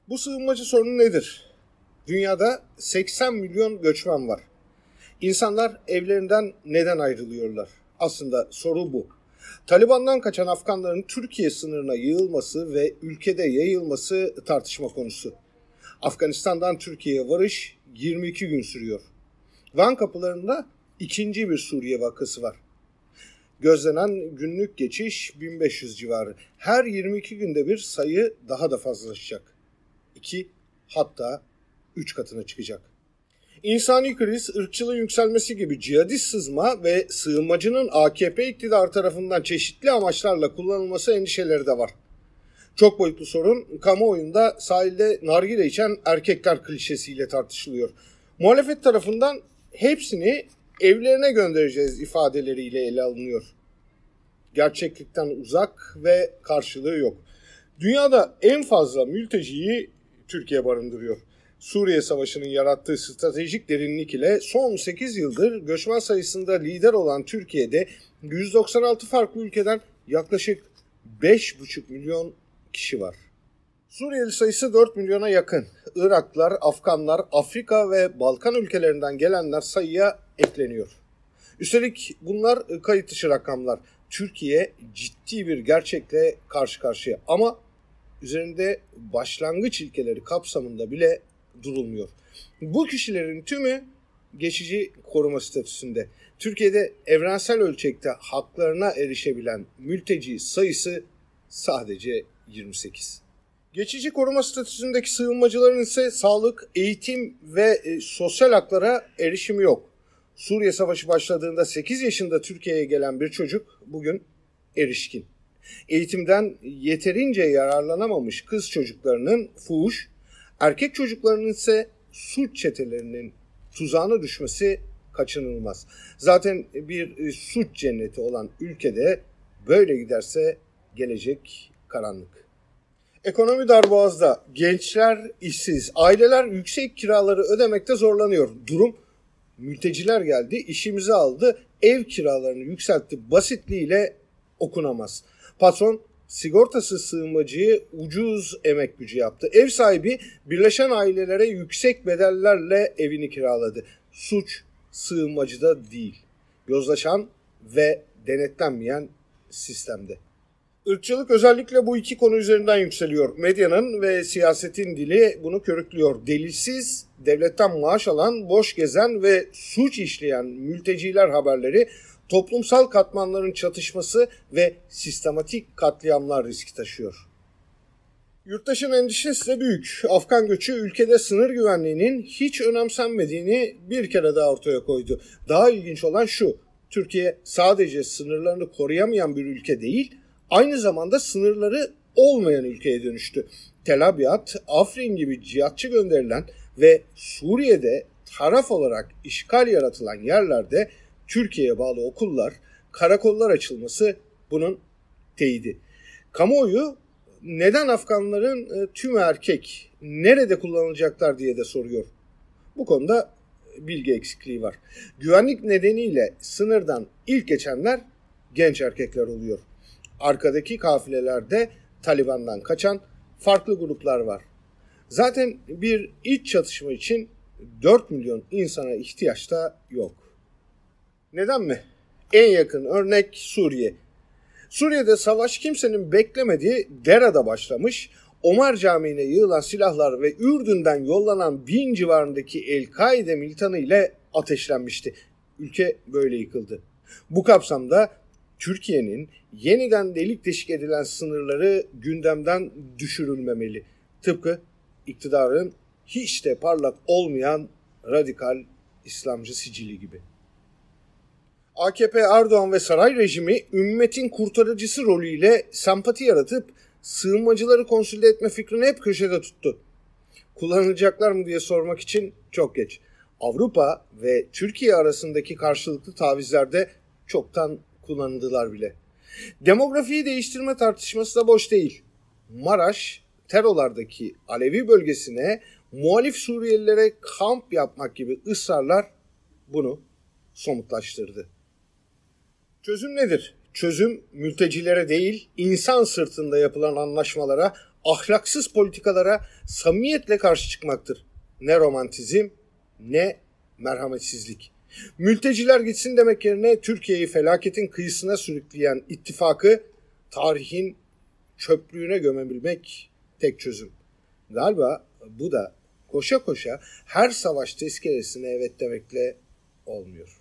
Bu sığınmacı sorunu nedir? Dünyada 80 milyon göçmen var. İnsanlar evlerinden neden ayrılıyorlar? Aslında soru bu. Taliban'dan kaçan Afganların Türkiye sınırına yığılması ve ülkede yayılması tartışma konusu. Afganistan'dan Türkiye'ye varış 22 gün sürüyor. Van kapılarında ikinci bir Suriye vakası var. Gözlenen günlük geçiş 1500 civarı. Her 22 günde bir sayı daha da fazlalaşacak. 2 hatta 3 katına çıkacak. İnsani kriz, ırkçılığın yükselmesi gibi cihadist sızma ve sığınmacının AKP iktidarı tarafından çeşitli amaçlarla kullanılması endişeleri de var. Çok boyutlu sorun kamuoyunda sahilde nargile içen erkekler klişesiyle tartışılıyor. Muhalefet tarafından hepsini evlerine göndereceğiz ifadeleriyle ele alınıyor. Gerçeklikten uzak ve karşılığı yok. Dünyada en fazla mülteciyi Türkiye barındırıyor. Suriye Savaşı'nın yarattığı stratejik derinlik ile son 8 yıldır göçmen sayısında lider olan Türkiye'de 196 farklı ülkeden yaklaşık 5,5 milyon kişi var. Suriyeli sayısı 4 milyona yakın. Iraklılar, Afganlar, Afrika ve Balkan ülkelerinden gelenler sayıya ekleniyor. Üstelik bunlar kayıt dışı rakamlar. Türkiye ciddi bir gerçekle karşı karşıya ama üzerinde başlangıç ilkeleri kapsamında bile durulmuyor. Bu kişilerin tümü geçici koruma statüsünde. Türkiye'de evrensel ölçekte haklarına erişebilen mülteci sayısı sadece 28. Geçici koruma statüsündeki sığınmacıların ise sağlık, eğitim ve sosyal haklara erişimi yok. Suriye Savaşı başladığında 8 yaşında Türkiye'ye gelen bir çocuk bugün erişkin. Eğitimden yeterince yararlanamamış kız çocuklarının fuhuş, erkek çocuklarının ise suç çetelerinin tuzağına düşmesi kaçınılmaz. Zaten bir suç cenneti olan ülkede böyle giderse gelecek karanlık. Ekonomi darboğazda, gençler işsiz, aileler yüksek kiraları ödemekte zorlanıyor. Durum mülteciler geldi, işimizi aldı, ev kiralarını yükseltti basitliğiyle okunamaz. Patron sigortasız sığınmacıyı ucuz emek gücü yaptı. Ev sahibi birleşen ailelere yüksek bedellerle evini kiraladı. Suç sığınmacıda değil, yozlaşan ve denetlenmeyen sistemde. Irkçılık özellikle bu iki konu üzerinden yükseliyor. Medyanın ve siyasetin dili bunu körüklüyor. Delilsiz, devletten maaş alan, boş gezen ve suç işleyen mülteciler haberleri toplumsal katmanların çatışması ve sistematik katliamlar riski taşıyor. Yurttaşın endişesi de büyük. Afgan göçü ülkede sınır güvenliğinin hiç önemsenmediğini bir kere daha ortaya koydu. Daha ilginç olan şu, Türkiye sadece sınırlarını koruyamayan bir ülke değil, aynı zamanda sınırları olmayan ülkeye dönüştü. Tel Abyad, Afrin gibi cihatçı gönderilen ve Suriye'de taraf olarak işgal yaratılan yerlerde Türkiye'ye bağlı okullar, karakollar açılması bunun teyidi. Kamuoyu neden Afganların tümü erkek, nerede kullanılacaklar diye de soruyor. Bu konuda bilgi eksikliği var. Güvenlik nedeniyle sınırdan ilk geçenler genç erkekler oluyor. Arkadaki kafilelerde Taliban'dan kaçan farklı gruplar var. Zaten bir iç çatışma için 4 milyon insana ihtiyaç da yok. Neden mi? En yakın örnek Suriye. Suriye'de savaş kimsenin beklemediği Dera'da başlamış, Omar Camii'ne yığılan silahlar ve Ürdün'den yollanan 1000 civarındaki El-Kaide militanı ile ateşlenmişti. Ülke böyle yıkıldı. Bu kapsamda Türkiye'nin yeniden delik deşik edilen sınırları gündemden düşürülmemeli. Tıpkı iktidarın hiç de parlak olmayan radikal İslamcı sicili gibi. AKP, Erdoğan ve saray rejimi ümmetin kurtarıcısı rolüyle sempati yaratıp sığınmacıları konsolide etme fikrini hep köşede tuttu. Kullanılacaklar mı diye sormak için çok geç. Avrupa ve Türkiye arasındaki karşılıklı tavizlerde çoktan kullanıldılar bile. Demografiyi değiştirme tartışması da boş değil. Maraş, Terolardaki Alevi bölgesine muhalif Suriyelilere kamp yapmak gibi ısrarlar bunu somutlaştırdı. Çözüm nedir? Çözüm mültecilere değil, insan sırtında yapılan anlaşmalara, ahlaksız politikalara samimiyetle karşı çıkmaktır. Ne romantizm ne merhametsizlik. Mülteciler gitsin demek yerine Türkiye'yi felaketin kıyısına sürükleyen ittifakı tarihin çöplüğüne gömebilmek tek çözüm. Galiba bu da koşa koşa her savaş tezkeresine evet demekle olmuyor.